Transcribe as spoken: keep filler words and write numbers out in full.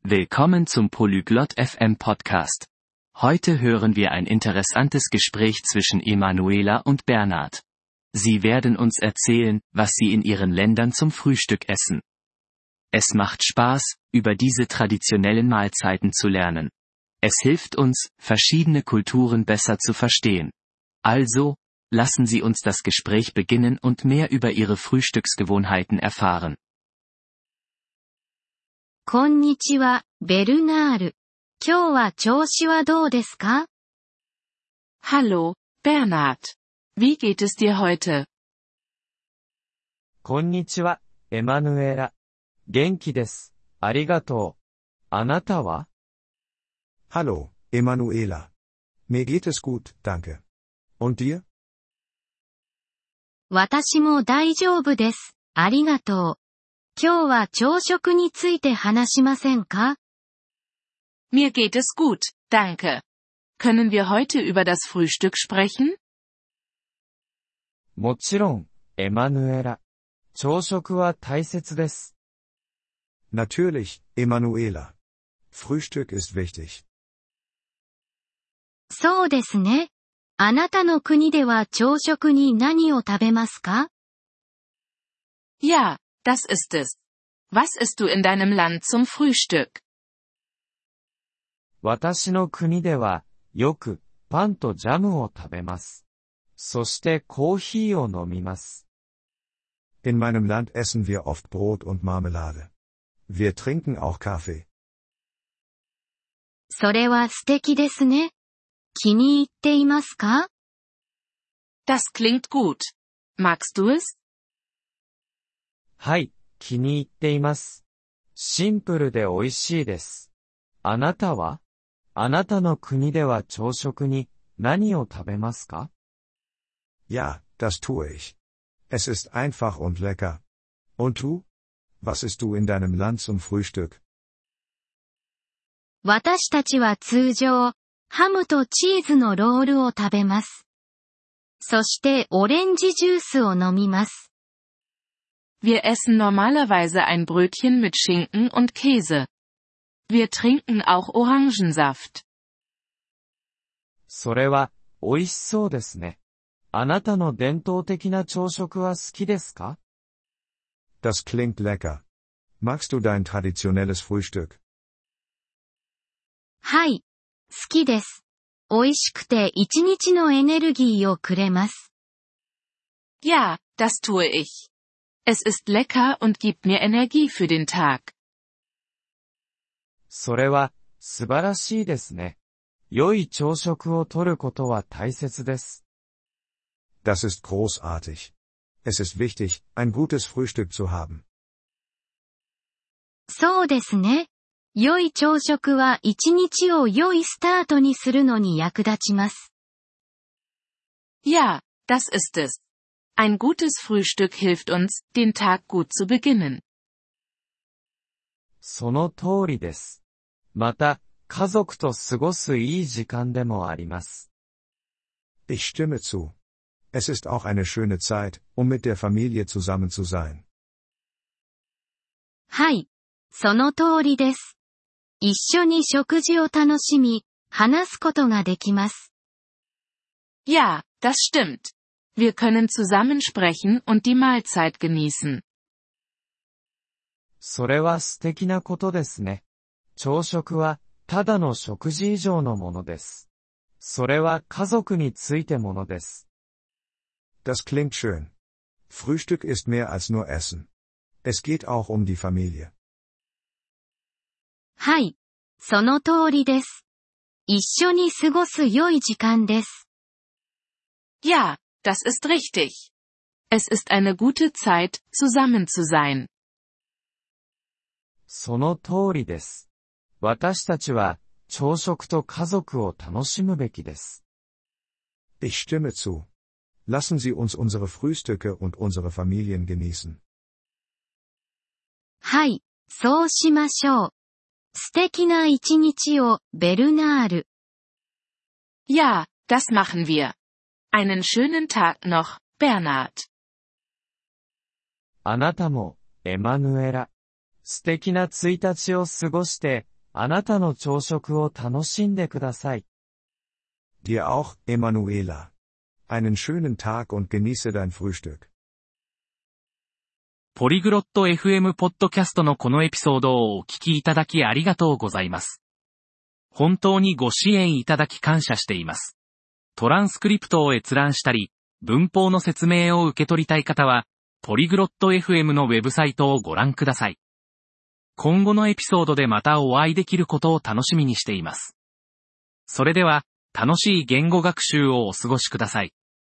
Willkommen zum Polyglot F M Podcast. Heute hören wir ein interessantes Gespräch zwischen Emanuela und Bernhard. Sie werden uns erzählen, was sie in ihren Ländern zum Frühstück essen. Es macht Spaß, über diese traditionellen Mahlzeiten zu lernen. Es hilft uns, verschiedene Kulturen besser zu verstehen. Also, lassen Sie uns das Gespräch beginnen und mehr über Ihre Frühstücksgewohnheiten erfahren. こんにちは、ベルナール。今日は調子はどうですか? Hallo, Bernhard. Wie geht es dir heute? こんにちは、エマヌエラ。元気です。ありがとう。あなたは? Hallo, Emanuela. Mir geht es gut, danke. Und dir? 私も大丈夫です。ありがとう。今日は朝食について話しませんか? Mir geht es gut, danke. Können wir heute über das Frühstück sprechen? もちろん、エマヌエラ。朝食は大切です。 Natürlich, Emanuela. Frühstück ist wichtig. そうですね。あなたの国では朝食に何を食べますか? Ja, das ist es. Was isst du in deinem Land zum Frühstück? 私の国では、よく、パンとジャムを食べます。そしてコーヒーを飲みます。 In meinem Land essen wir oft Brot und Marmelade. Wir trinken auch Kaffee. それは素敵ですね。気に入っていますか? Das klingt gut. Magst du es? はい、気に入っています。シンプルで美味しいです。あなたは?あなたの国では朝食に何を食べますか? Ja, das tue ich. Es ist einfach und lecker. Und du? Was isst du in deinem Land zum Frühstück? 私たちは通常、ハムとチーズのロールを食べます。そしてオレンジジュースを飲みます。 Wir essen normalerweise ein Brötchen mit Schinken und Käse. Wir trinken auch Orangensaft. それは、美味しそうですね。あなたの伝統的な朝食は好きですか? Das klingt lecker. Magst du dein traditionelles Frühstück? はい、好きです。美味しくて一日のエネルギーをくれます。 Ja, das tue ich. Es ist lecker und gibt mir Energie für den Tag. それは、素晴らしいですね。良い朝食をとることは大切です。 Das ist großartig. Es ist wichtig, ein gutes Frühstück zu haben. そうですね。良い朝食は一日を良いスタートにするのに役立ちます。 Ja, das ist es. Ein gutes Frühstück hilft uns, den Tag gut zu beginnen. その通りです。また、家族と過ごすいい時間でもあります。 Ich stimme zu. Es ist auch eine schöne Zeit, um mit der Familie zusammen zu sein. はい、その通りです。一緒に食事を楽しみ、話すことができます。 Ja, das stimmt. Wir können zusammen sprechen und die Mahlzeit genießen. それは素敵なことですね。朝食は、ただの食事以上のものです。それは家族についてものです。 Das klingt schön. Frühstück ist mehr als nur Essen. Es geht auch um die Familie. はい、その通りです。一緒に過ごす良い時間です。 Ja, das ist richtig. Es ist eine gute Zeit, zusammen zu sein. その通りです。私たちは、朝食と家族を楽しむべきです。 Ich stimme zu. Lassen Sie uns unsere Frühstücke und unsere Familien genießen. はい、そうしましょう。素敵な一日を、ベルナール。 Ja, das machen wir. Einen schönen Tag noch, Bernhard. あなたも、エマヌエラ。素敵なついたちを過ごして、 あなたの朝食を楽しんでください。 Dir auch, Emanuela. Einen schönen Tag und genieße dein Frühstück. ポリグロット エフエム ポッドキャストのこのエピソードをお聞きいただきありがとうございます。本当にご支援いただき感謝しています。トランスクリプトを閲覧したり、文法の説明を受け取りたい方は、ポリグロット エフエム のウェブサイトをご覧ください。今後のエピソードでまたお会いできることを楽しみにしています。それでは、楽しい言語学習をお過ごしください。